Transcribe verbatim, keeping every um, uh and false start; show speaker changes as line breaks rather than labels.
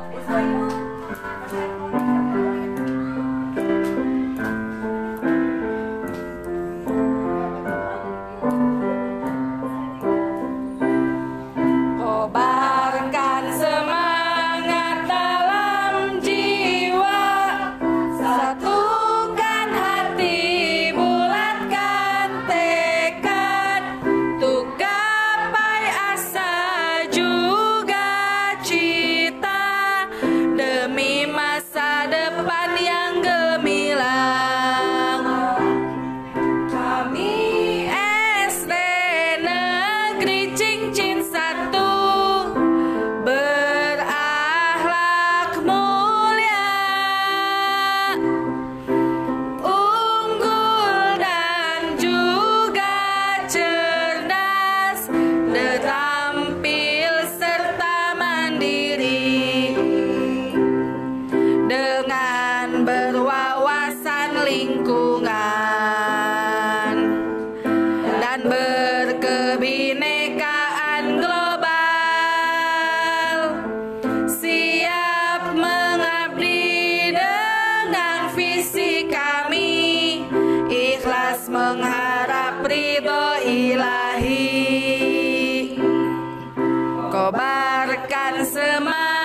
Kobarkan semangat dalam jiwa, satukan hati, bulatkan tekad, untuk gapai asa juga cita, demi masa depan yang gemilang. Kami S D Negeri Cincin satu berakhlak mulia, unggul dan juga cerdas, terampil serta mandiri, dengan berwawasan lingkungan dan berkebinekaan global, siap mengabdi dengan visi kami, ikhlas mengharap ridho ilahi. Kobarkan semangat